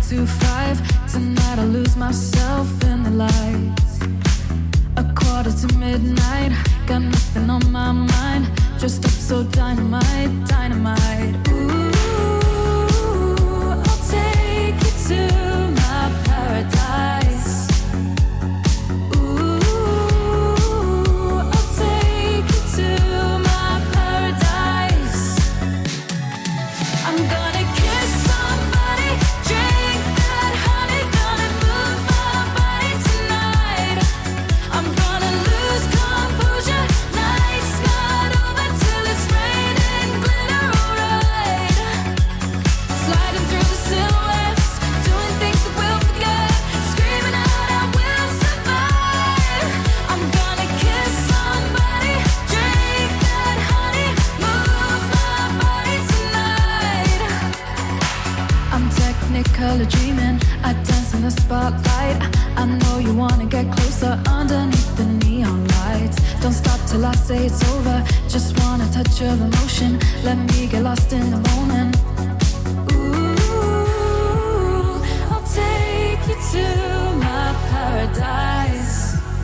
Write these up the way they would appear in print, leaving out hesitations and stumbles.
to 5. Tonight I lose myself in the lights. A quarter to midnight, got nothing on my mind. Just up so dynamite, dynamite. Ooh, I'll take you to my paradise. Ooh, I'll take you to my paradise. I'm gonna kiss somebody, drink that honey, gonna move my body tonight. I'm gonna lose composure, night's not over till it's raining glitter, alright. Sliding through the silhouettes, doing things that we'll forget, screaming out I will survive. I'm gonna kiss somebody, drink that honey, move my body tonight. I'm technicolor dreaming, I dance in the spotlight. I know you wanna get closer underneath the neon lights. Don't stop till I say it's over, just want a touch of emotion. Let me get lost in the moment. Ooh, I'll take you to my paradise.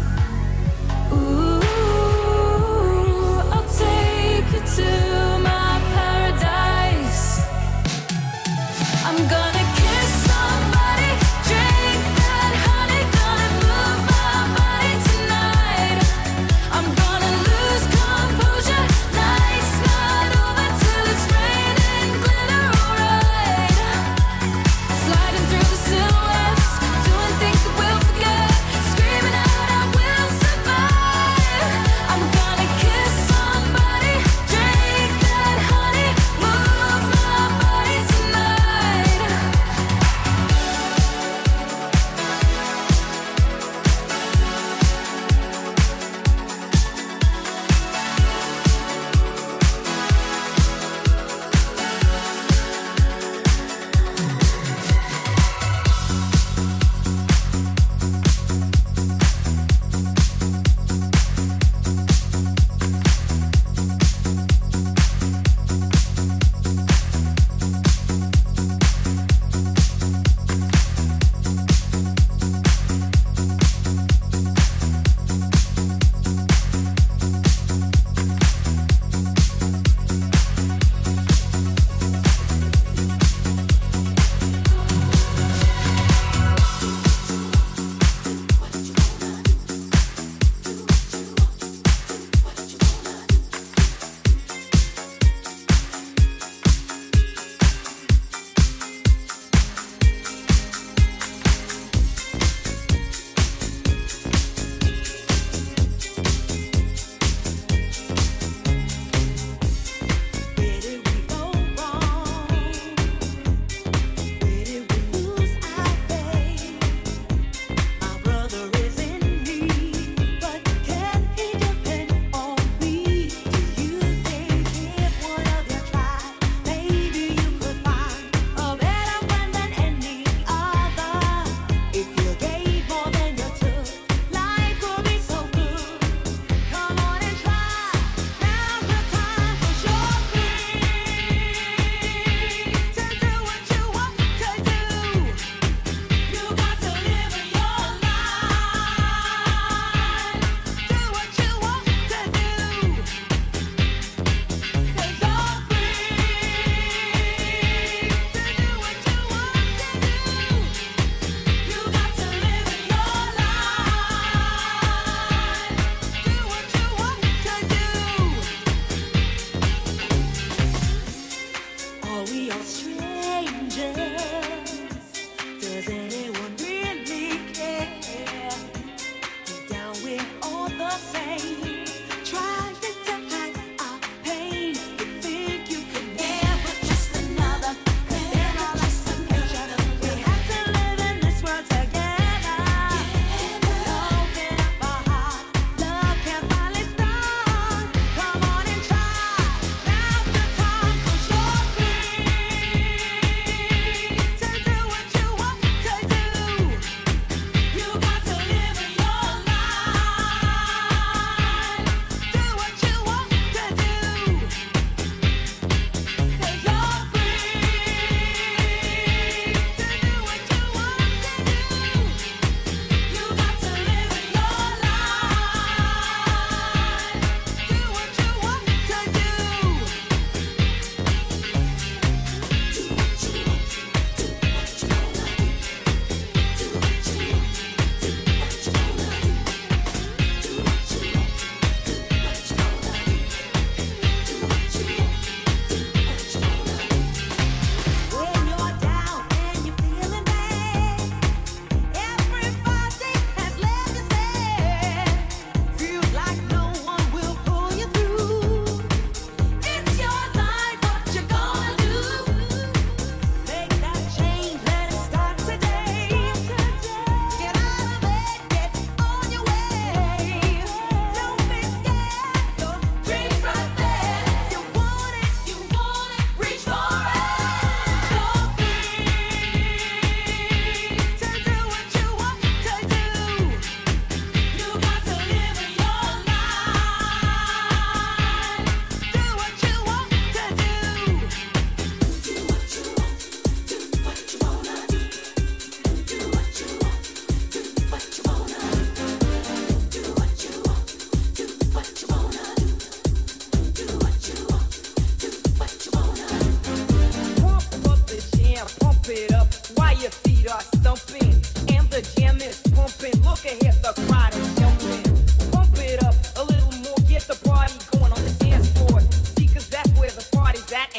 Ooh, I'll take you to my paradise. I'm gonna kiss somebody, drink that honey, gonna move my body tonight. I'm gonna lose composure, night's not over till it's raining glitter, alright. Sliding through the silhouettes, doing things that we'll forget, screaming out I will survive. I'm gonna kiss somebody, drink that honey, move my body tonight.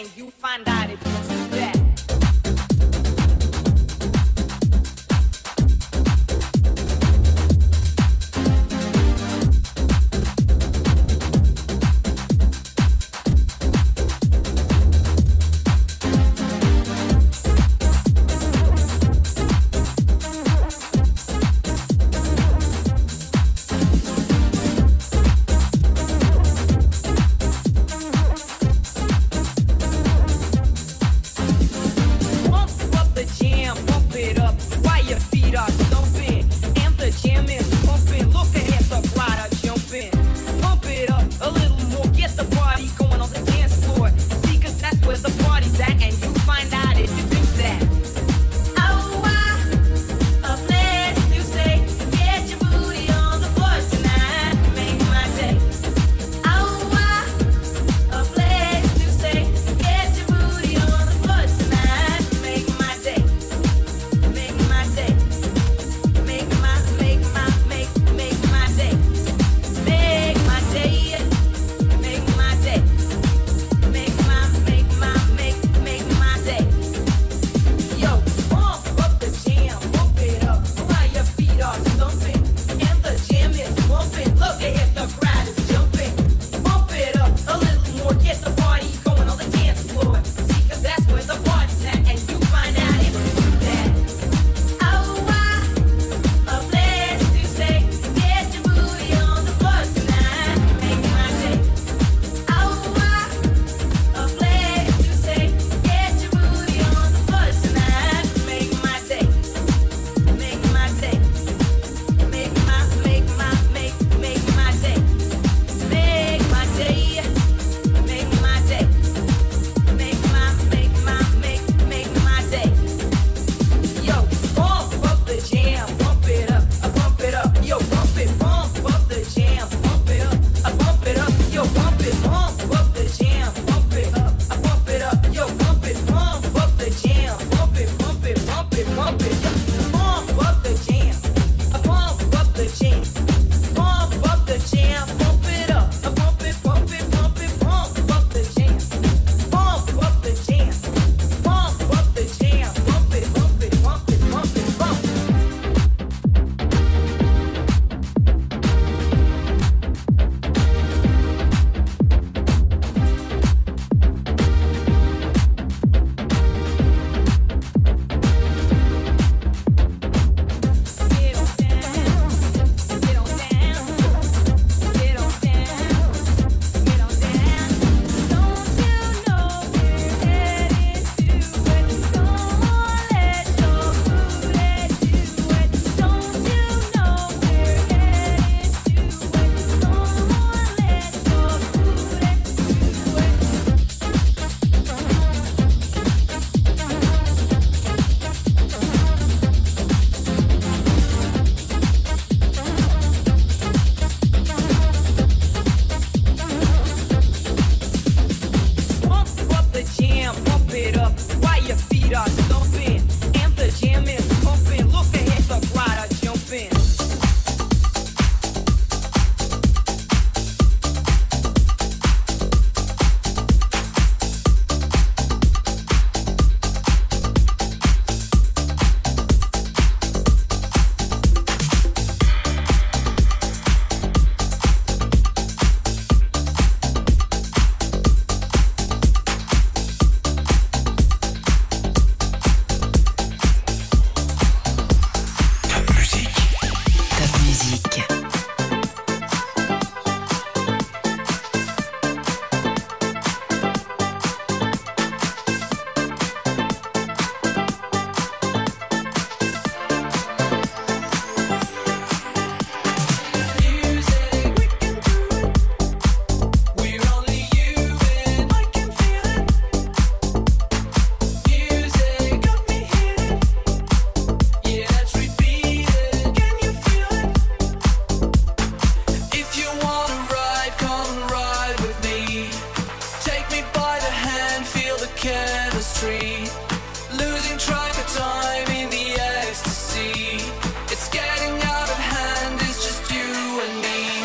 and you find out if you do that.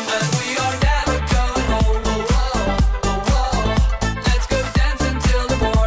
Let's go dance until the morning.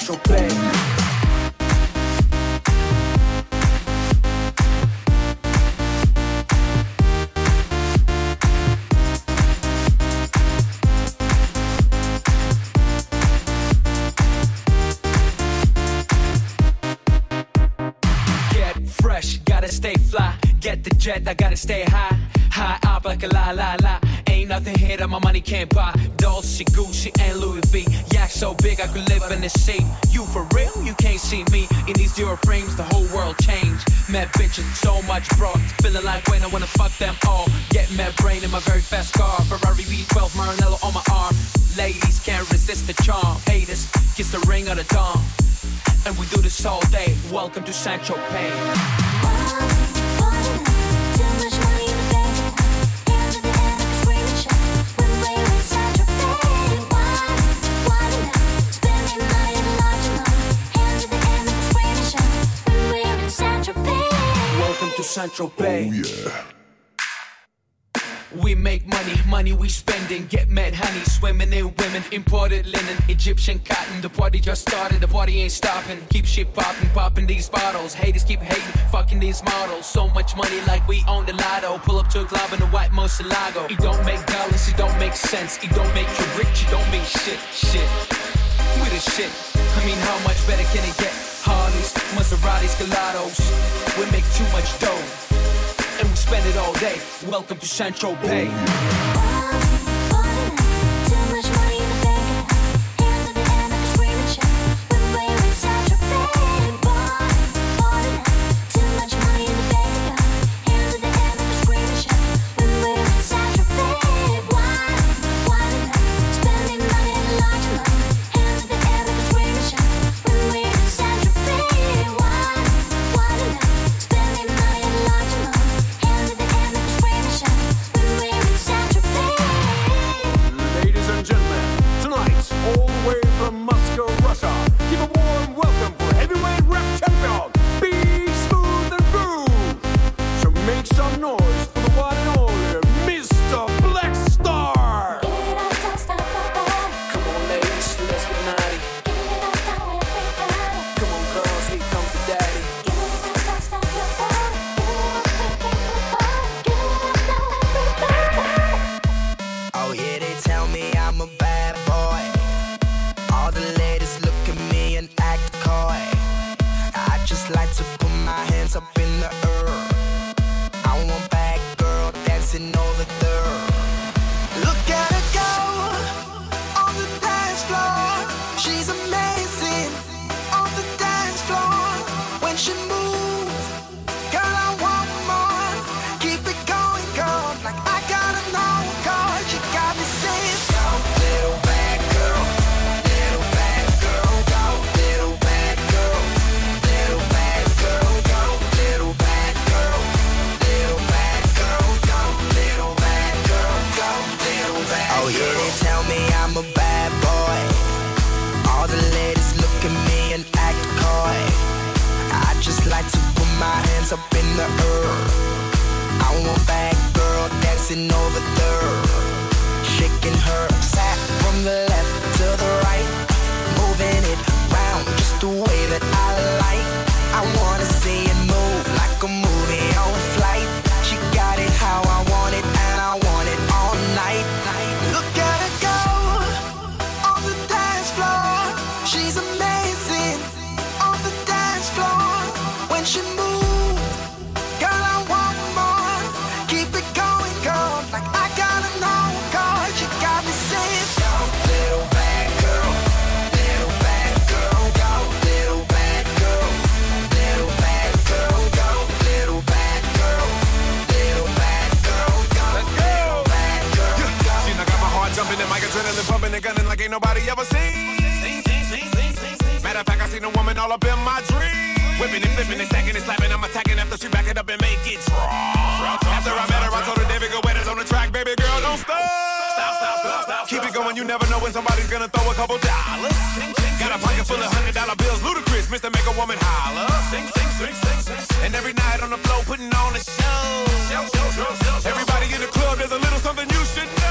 Saint-Tropez. Stay fly, get the jet, I gotta stay high. High up like a la la la. Ain't nothing here that my money can't buy. Dolce, Gucci, and Louis V. Yak so big I could live in the sea. You for real? You can't see me. In these zero frames, the whole world changed. Mad bitches, so much broad. Feeling like when I wanna fuck them all. Get mad brain in my very fast car. Ferrari V12, Maranello on my arm. Ladies can't resist the charm. Haters, kiss the ring of the dawn. And we do this all day. Welcome to Saint-Tropez. Saint-Tropez. Oh yeah. We make money, money we spending. Get mad honey, swimming in women. Imported linen, Egyptian cotton. The party just started, the party ain't stopping. Keep shit popping, popping these bottles. Haters keep hating, fucking these models. So much money like we own the lotto. Pull up to a club in a white Murcielago. It don't make dollars, it don't make sense. It don't make you rich, it don't mean shit, shit. We the shit, I mean how much better can it get? Harleys, Maseratis, Gelatos. We make too much dough, and we spend it all day. Welcome to Saint-Tropez.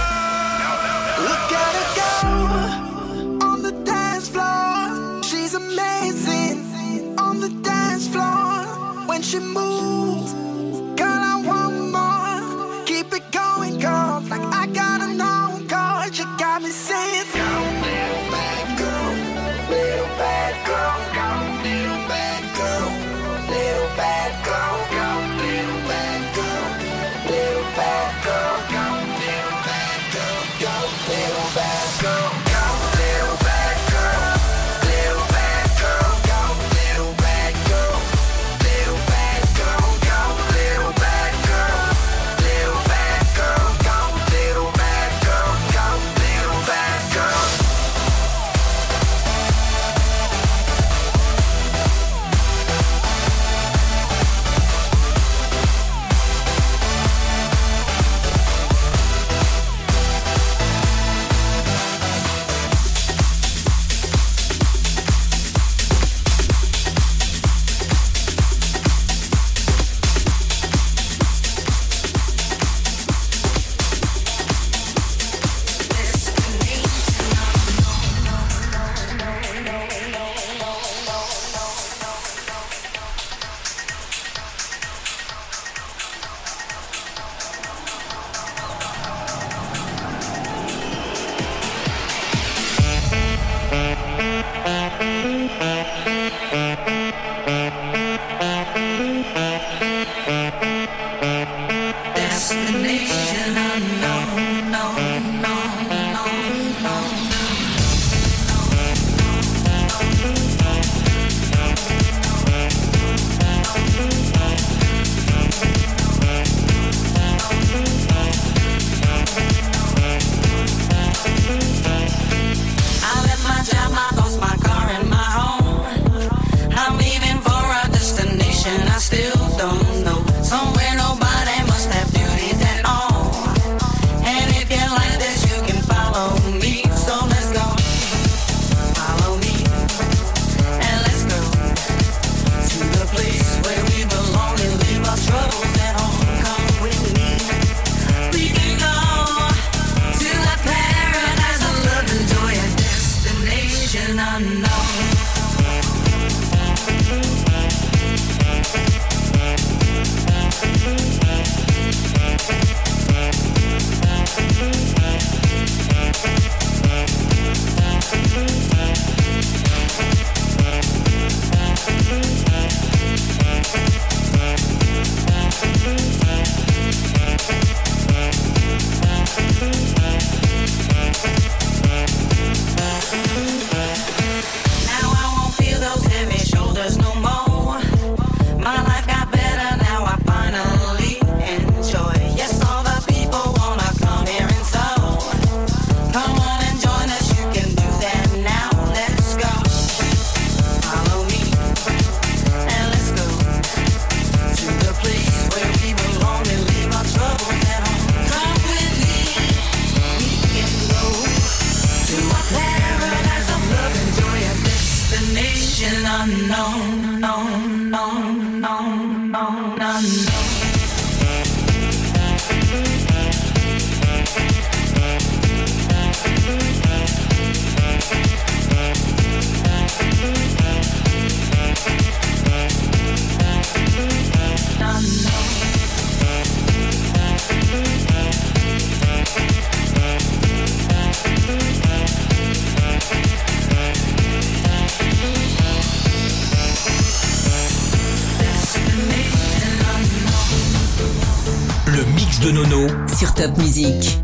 Look at her go on the dance floor. She's a Girl, I want more. Keep it going, girl. Like I gotta know, girl. You got me saying, go, little bad girl, little bad girl, go, little bad girl, little bad girl, go, little bad girl, little bad girl, go, little bad girl, go, little bad girl, go, little bad girl, little bad girl, go, little bad girl, little bad girl, go, little bad girl, little bad girl, go, little bad girl, go, little bad girl. Destination unknown, no, no, no, no. I left my job, I lost my car and my home. I'm leaving for a destination I still don't know. Somewhere nobody must have duties at all. And if you like this, you can follow me. So let's go. Follow me. And let's go to the place where we belong and leave our troubles at home. Come with me. We can go to the paradise of love and joy, a destination unknown. Now I won't feel those heavy shoulders no more. My life got better now, I finally enjoy. Yes, all the people wanna come here and so. Come on and join us, you can do that now. Let's go. Follow me and let's go to the place where we belong and leave our troubles at home. Come with me, we can go to a paradise of love and joy, a destination unknown, known, known, known, known, unknown. Le mix de Nono sur Top Music.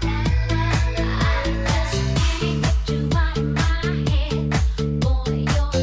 Boy, you're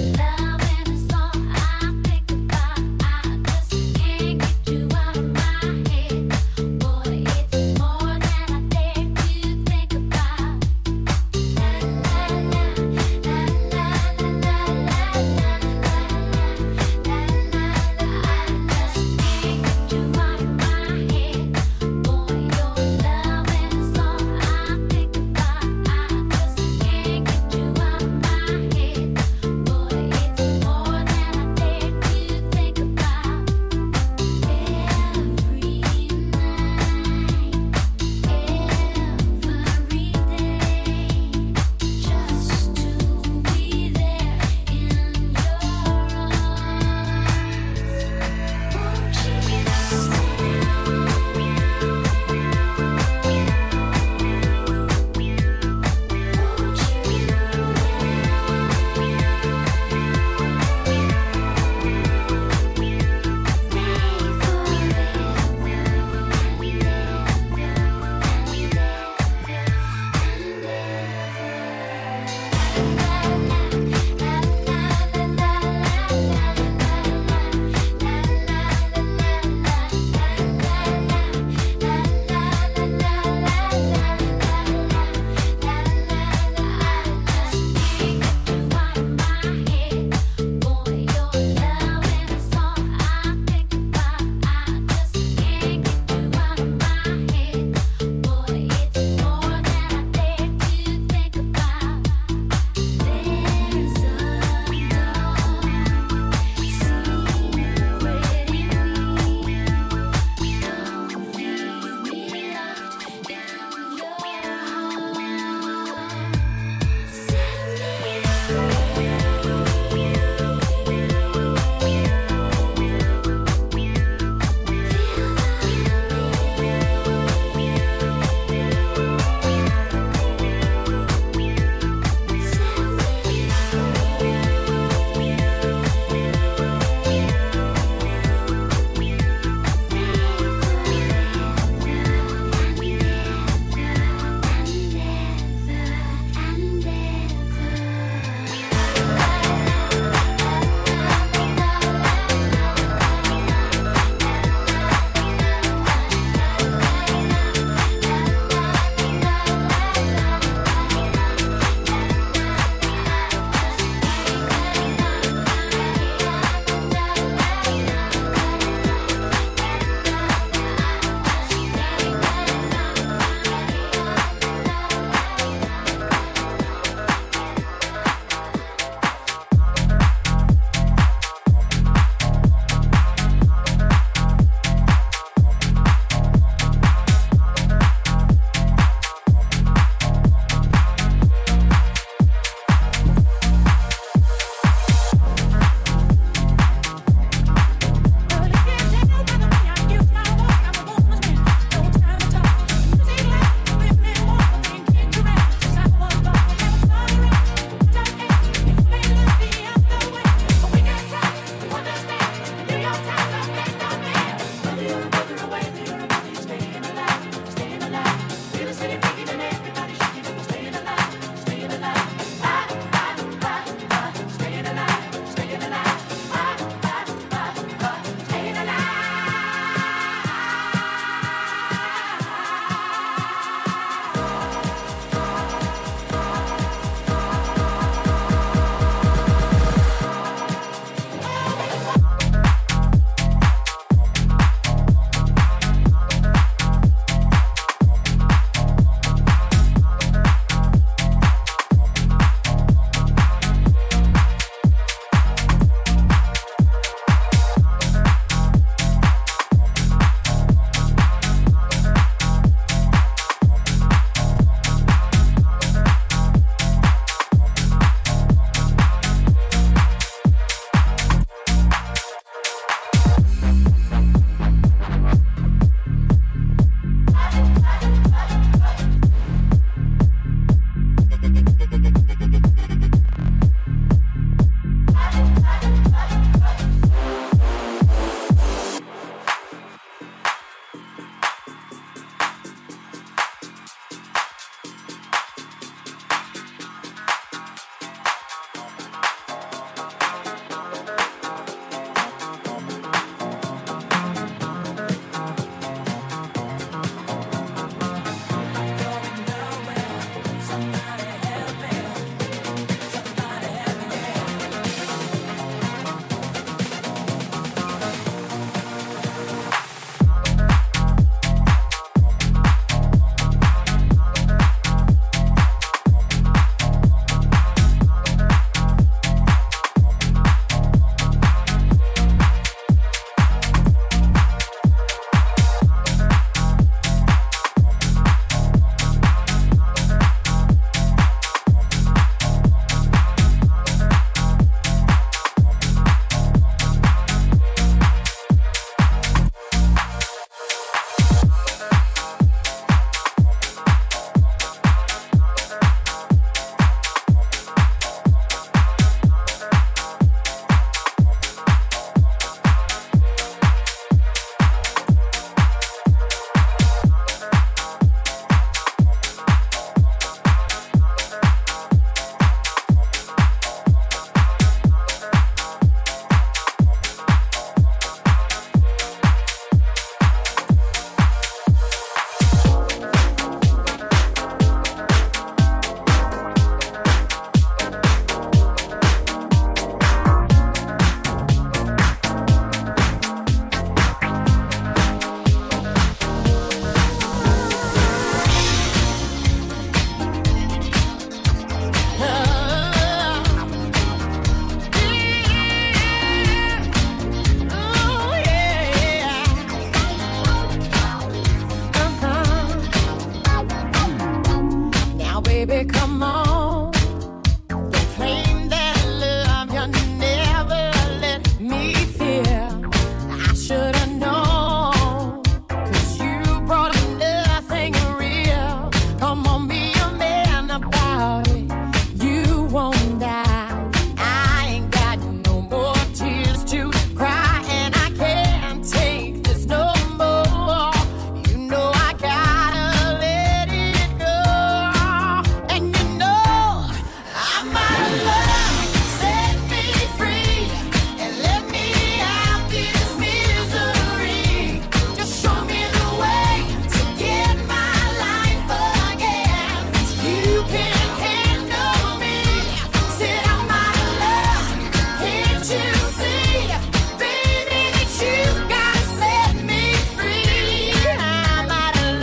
Now, baby, come on. Claim that love you never let me feel. I should have known, 'cause you brought nothing real. Come on, be a man about it. You won't die. I ain't got no more tears to cry, and I can't take this no more. You know I gotta let it go. And you know I'm out of love. Set me free and let me out this misery. Just show me the way to get my life again. You can handle me. Said I'm out of love. Can't you see, baby, that you gotta set me free? I'm out of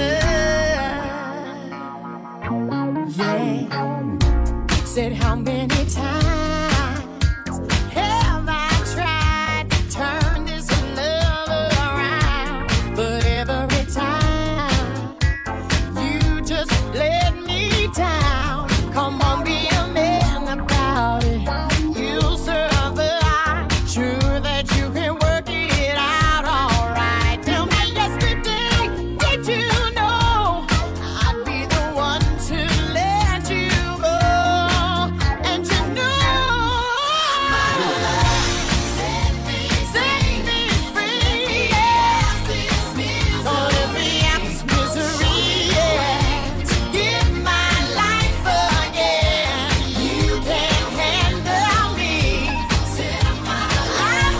love. Yeah. Said how many times have I tried to turn this love around? But every time you just let me down. Come on, be a man about it. You'll survive. Sure that you can work it out alright. Tell me yesterday, did you know I'd be the one to let you go? And you know set me free, yeah. Gonna let me out this misery, yeah. Give my life again. You can handle me. Said I'm out of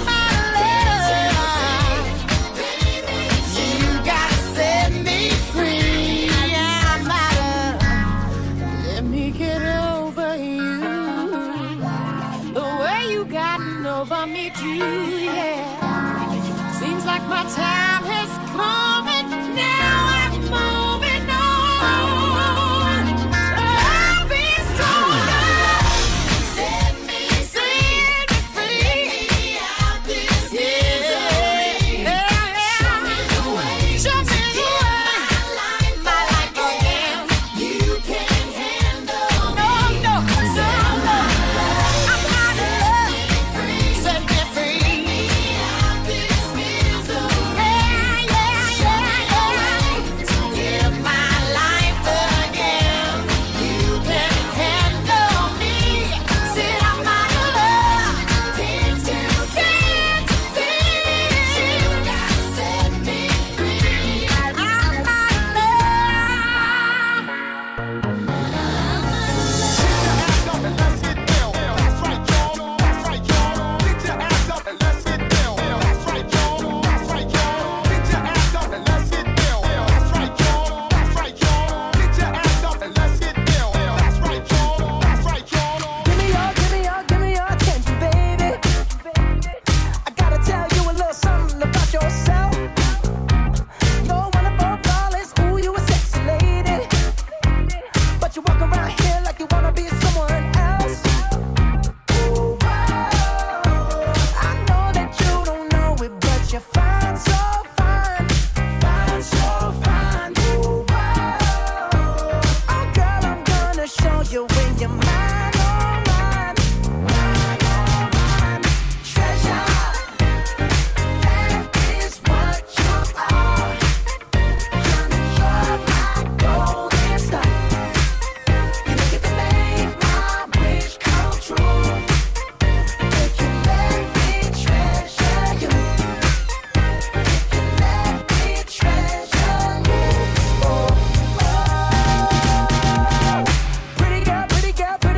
love. You gotta set me free. I'm out of. Let me get over you. The way you gotten over me too, yeah. Seems like my time has come and now I'm moving on. I'll be stronger. Set me free. Out this misery. Show me the way. Show me the way. My life again. You can handle me. No. I'm out of love. Set me free. Out this misery. Give my life again. You can handle me. Said I'm out of love. Can't you see? You gotta set me free. I'm out of love. Give me your attention, baby. I gotta tell you a little something about yourself. You're one of our flawless, ooh, you a sexy lady. But you walk around here like you wanna be someone else. Ooh, wow. I know that you don't know it, but you're fine, so fine. Fine, so fine. Ooh, wow. Oh, girl, I'm gonna show you when you're mine, oh, mine. Mine, oh, mine. Treasure, that is what you are. You're my golden star. You get to make my wish come true. If you let me treasure you. If you let me treasure you. Oh, oh. Pretty girl, pretty girl, pretty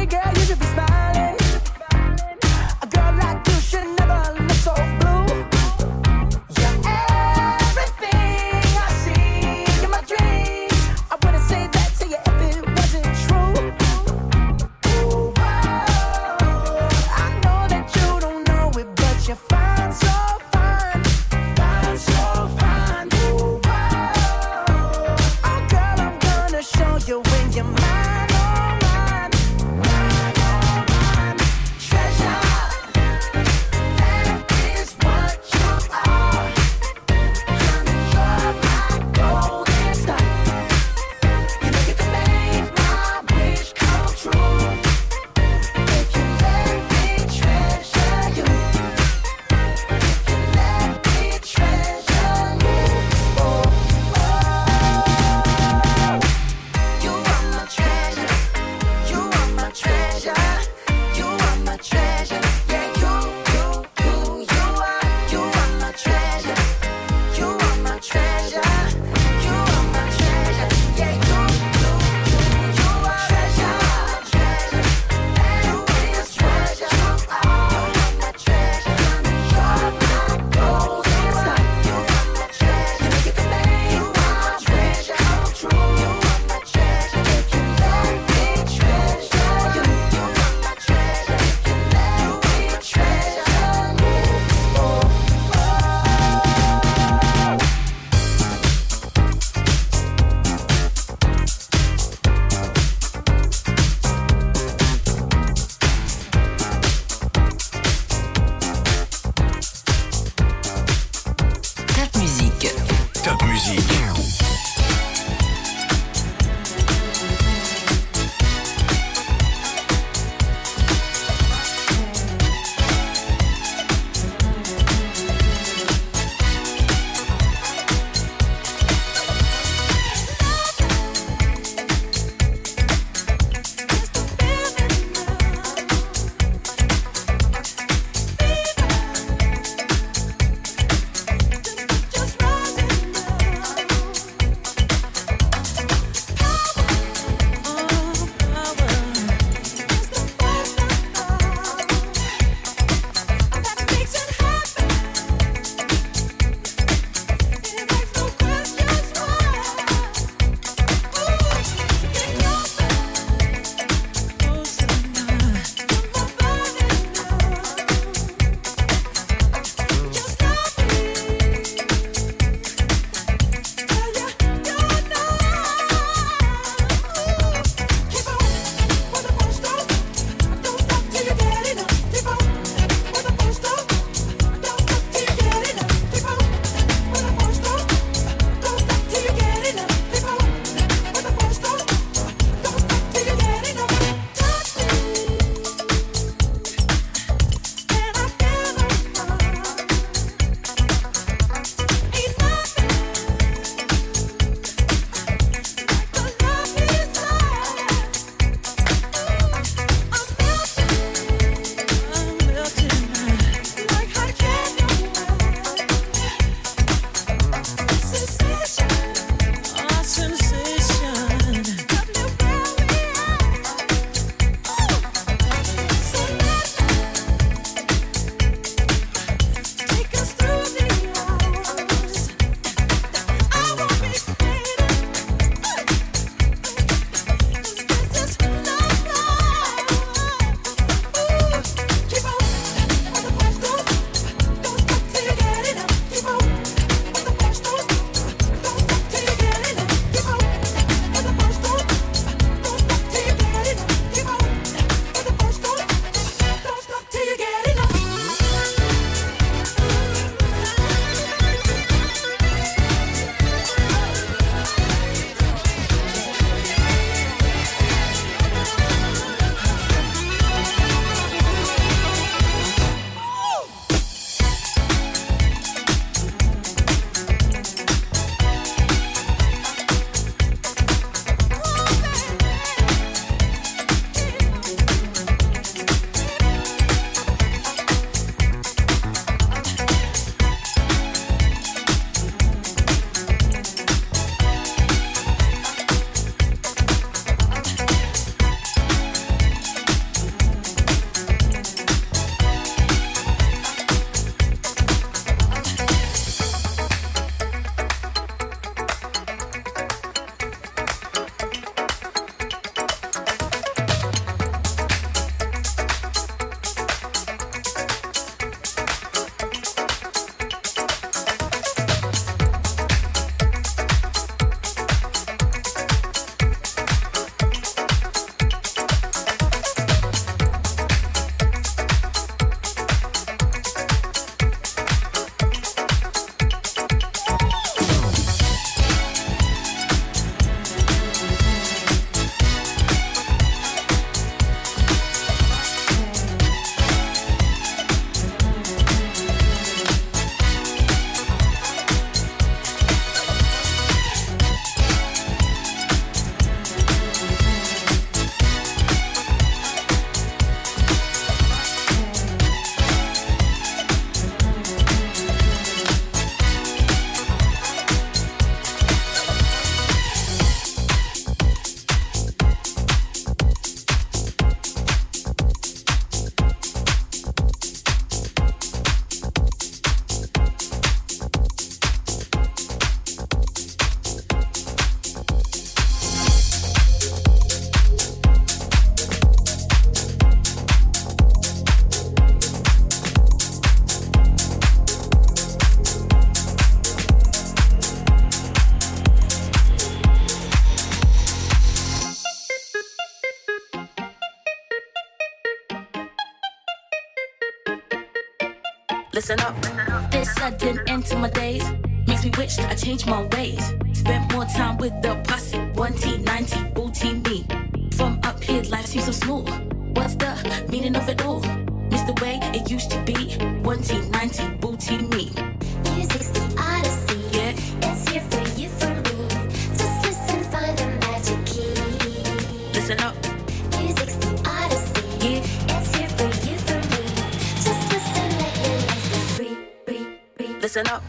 Listen up. This sudden end to my days makes me wish I changed my ways. Spent more time with the posse. 1T, 9T, booty me. From up here, life seems so smooth. What's the meaning of it all? Miss the way it used to be. 1T, 9T, booty me. Music's the odyssey. Yeah. It's here for you, for me. Just listen, find the magic key. Listen up. Music's the odyssey. Yeah. It's here for you, for me. Just listen, let your life be free, free, free. Listen up.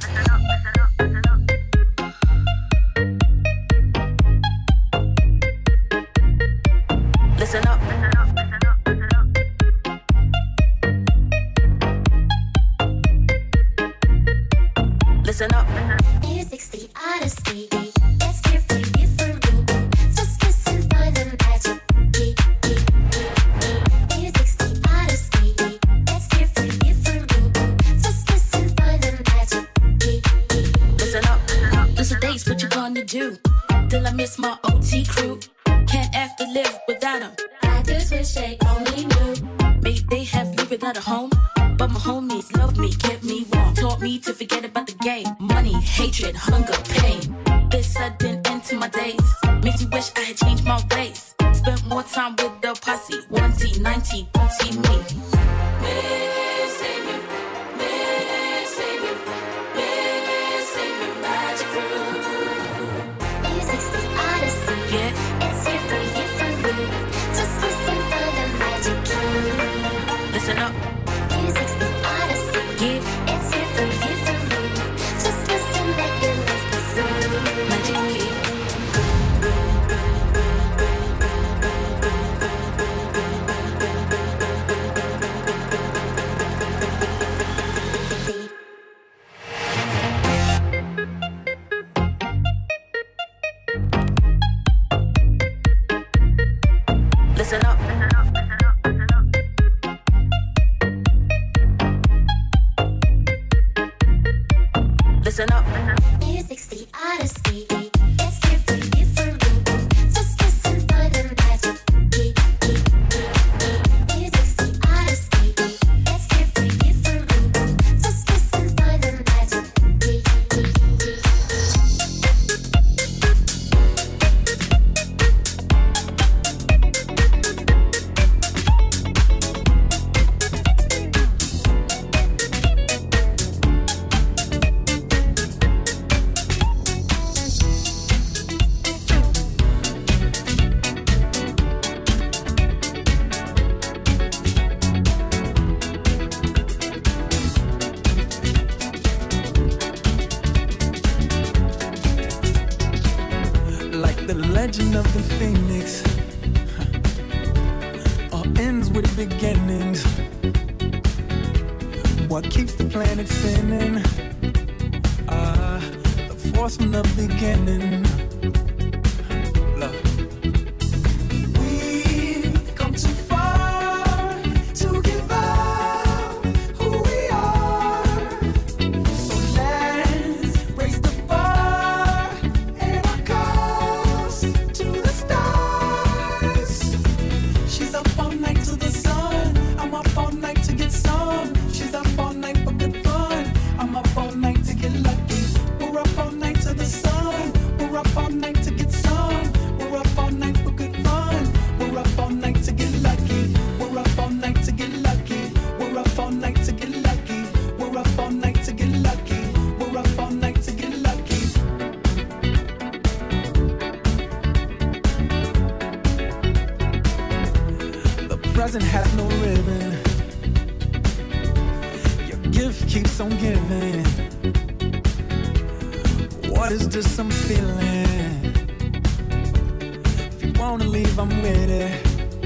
Listen up. Listen up. Music's the odyssey. It's here for you, for me. Just listen, find the magic key. Music's the odyssey. It's here for you, for me. Just listen, find the magic key. Listen up. Listen days, what you gonna do? Till I miss my OT crew. Can't have to live without them. I just wish they only knew. Maybe they have lived without a home, but my homies love me, kept me warm. Taught me to forget about the game. Money, hatred, hunger, pain. This sudden end to my days makes me wish I had changed my ways. Spent more time with the posse. 1T, 9T, booty me. Missing you, missing you, missing you, magic crew. Music's the odyssey. Yeah. It's here for you, for me. Just listen, find the magic key. Listen up. Music's the odyssey. Yeah. It's here for you, for me. Just listen, let your life be free. Magic key. Listen up. Listen up. Music's the odyssey. It's here for you, for me. Just listen, find the magic key. Music's the odyssey. It's here for you, for me. Just listen, find the magic key. Like the legend of the phoenix, all ends with beginnings. What keeps the planet spinning? The force from the beginning. Love. We've come too far to give up who we are. So let's raise the bar and our cause to the stars. She's up all night to the sun. I'm up all night to get some. She's up all night for good fun. I'm up all night to get lucky. We're up all night to the sun. We're up all night to get some. We're up all night for good fun. We're up all night to get lucky. We're up all night to get lucky. We're up all night to get lucky. We're up all night to get lucky. We're up all night to get lucky. The present has no ribbon. Your gift keeps on giving. What is this I'm feeling? If you wanna leave, I'm with it.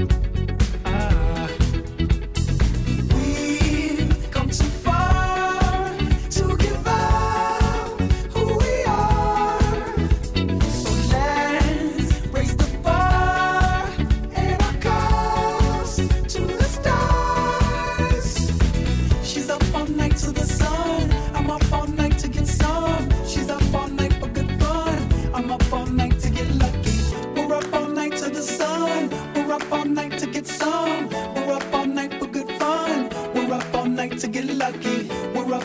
We've come too far to give up who we are. So let's raise the bar and our cause to the stars. She's up all night to the sun. I'm up all night to get some. She's up all night for good fun. I'm up all night to get lucky. We're up all night to the sun. We're up all night to get some. We're up all night for good fun. We're up all night to get lucky. We're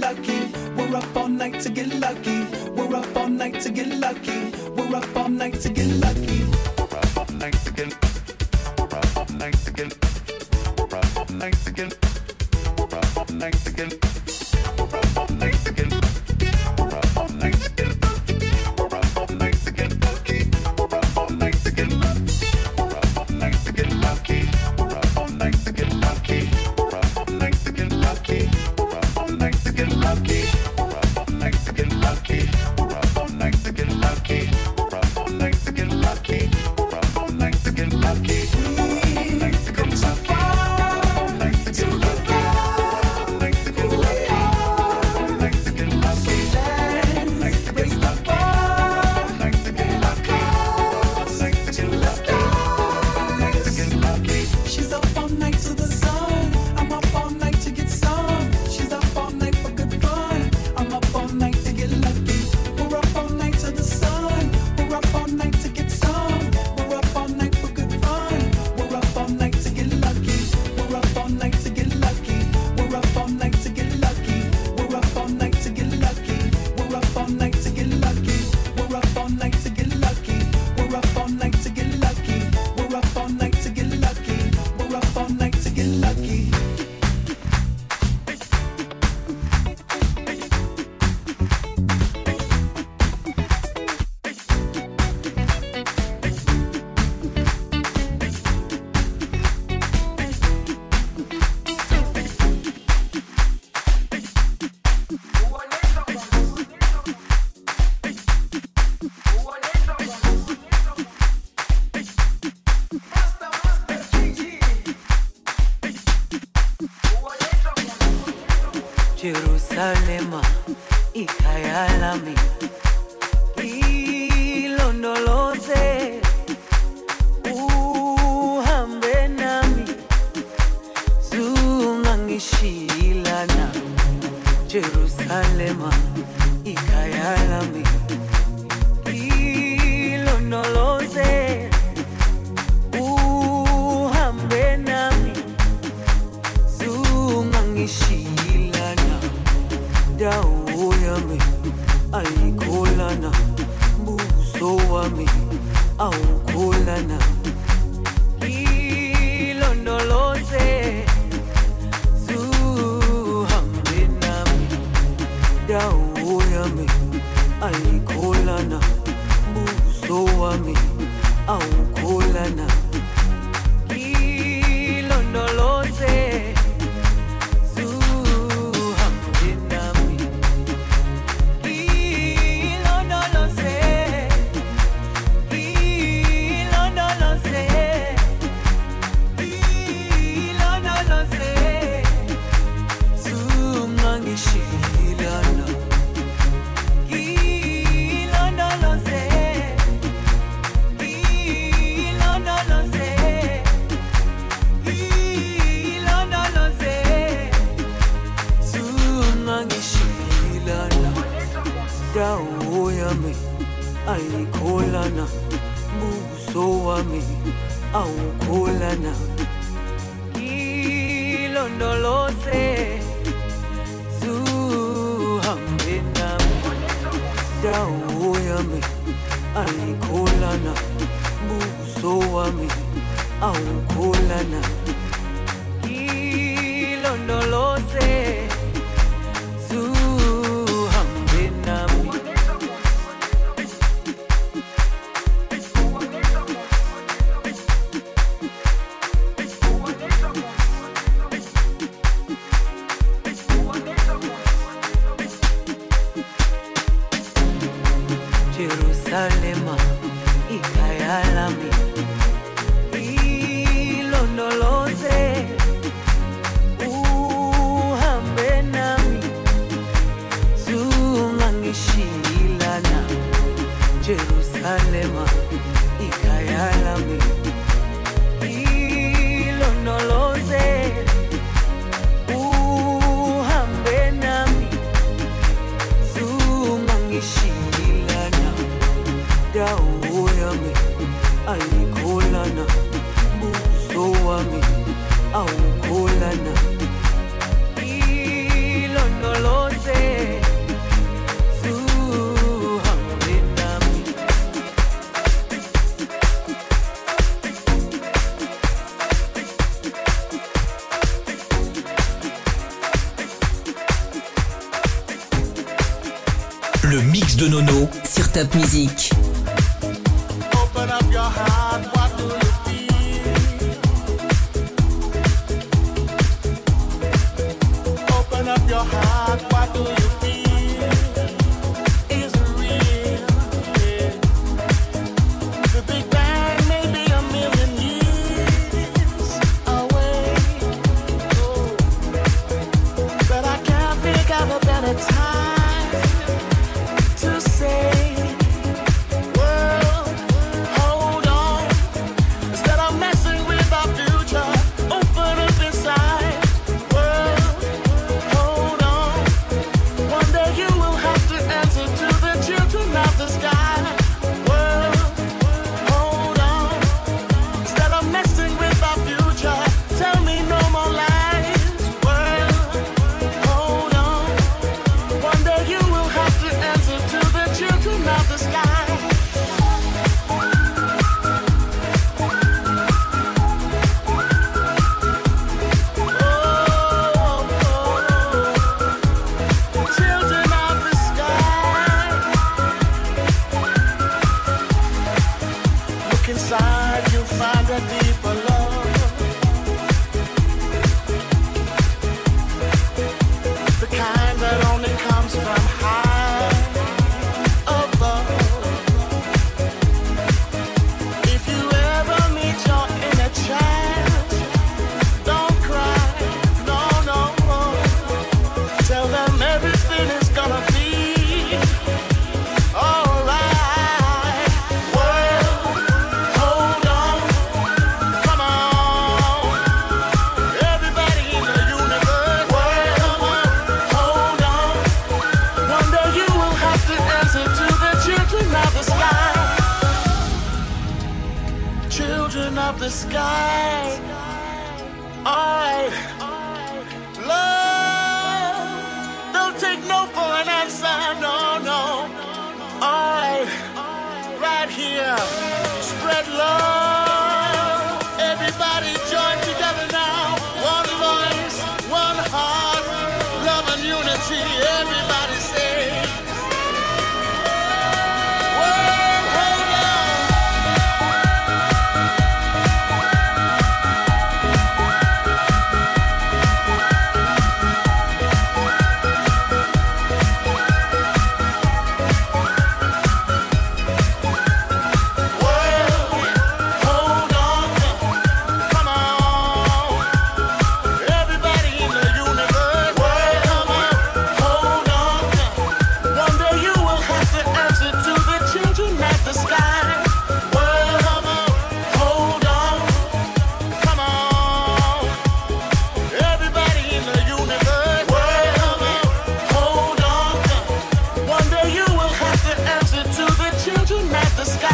lucky. We're up all night to get lucky. We're up all night to get lucky. We're up all night to get lucky. We're up all night to get. We're up all night to get. We're up all night to get. We're up all night to get. We're up all night to get. We're up all night to get. We're up all night to get lucky. We're up all night to get lucky. We're up all night to get lucky. We're up all night to get lucky. We're up all night to get lucky. We're up all night to get lucky. We're up all night to get lucky. We're up all night to get lucky. We're up all night to get lucky. We're up all night to get lucky. Come so far, night to get lucky. Night to get lucky. Night to get lucky. Night to get lucky. Night to get lucky. Night to get lucky. Night to get lucky. She's up all night to the sun. I'm up all night to get some. She's up all night for good fun. I'm up all night to get lucky. We're up all night to the sun. We're up all night to get some. We're up all night for good fun. We're up all night to get lucky. We're up all night to get lucky. We're up all night to get lucky. We're up all night to get lucky. We're up all night to get lucky. We're up all night to get lucky. We're up all night to get lucky. We're up all night to get lucky. We're up all night to get lucky. Jerusalema, ikhaya lami, ilondoloze, uhambe nami, zungangishilana. Jerusalema, ikhaya lami, ilondoloze, uhambe nami, zungangishilana. Dawo yami ayikholana, buso wami awukholana. Ilondoloze, zuhambe nami. Dawo yami ayikholana, buso wami awukholana. Ilondoloze, dawo yami ayikholana, buso wami awukholana. Ilondoloze, zuhambe nami. Dawo yami ayikholana, buso wami awukholana. Ilondoloze, zuhambe nami. Jerusalema, ikhaya lami, ilondoloze, uhambe nami, zungangishilana. Jerusalema, ikhaya lami, ilondoloze, uhambe nami, zungangishilana. Dawo yami ayikholana, buso wami awukholana. Ilondoloze, de Nono sur Top Music. Open up your heart, what do you feel? Open up your heart, what do you feel? Is it real? Yeah. The Big Bang may be a million years away. Oh. But I can't think of a better time to say, world, hold on. Instead of messing with our future, open up inside. World, hold on. One day you will have to answer to the children of the sky. World, hold on. Instead of messing with our future, tell me no more lies. World, hold on. One day you will have to answer to the children of the sky. Children of the sky. Look inside, you'll find a deeper love. The kind that only comes from high above. If you ever meet your inner child, don't cry, no, no. Tell them everything is gonna be alright. World, hold on, come on. Everybody in the universe, world, hold on. One day you will have to answer to the children of the sky. Children of the sky. Alright. Love. Don't take no for an answer. No, no. Alright. Right here. Spread love. Everybody join together now. One voice, one heart. Love and unity. Everybody say. World, hold on. World, hold on. Come on. Everybody in the universe. World, hold on. One day you will have to answer to the children of the sky. World, hold on. Come on. Everybody in the universe. World, hold on. One day you will have to answer to the children of the sky.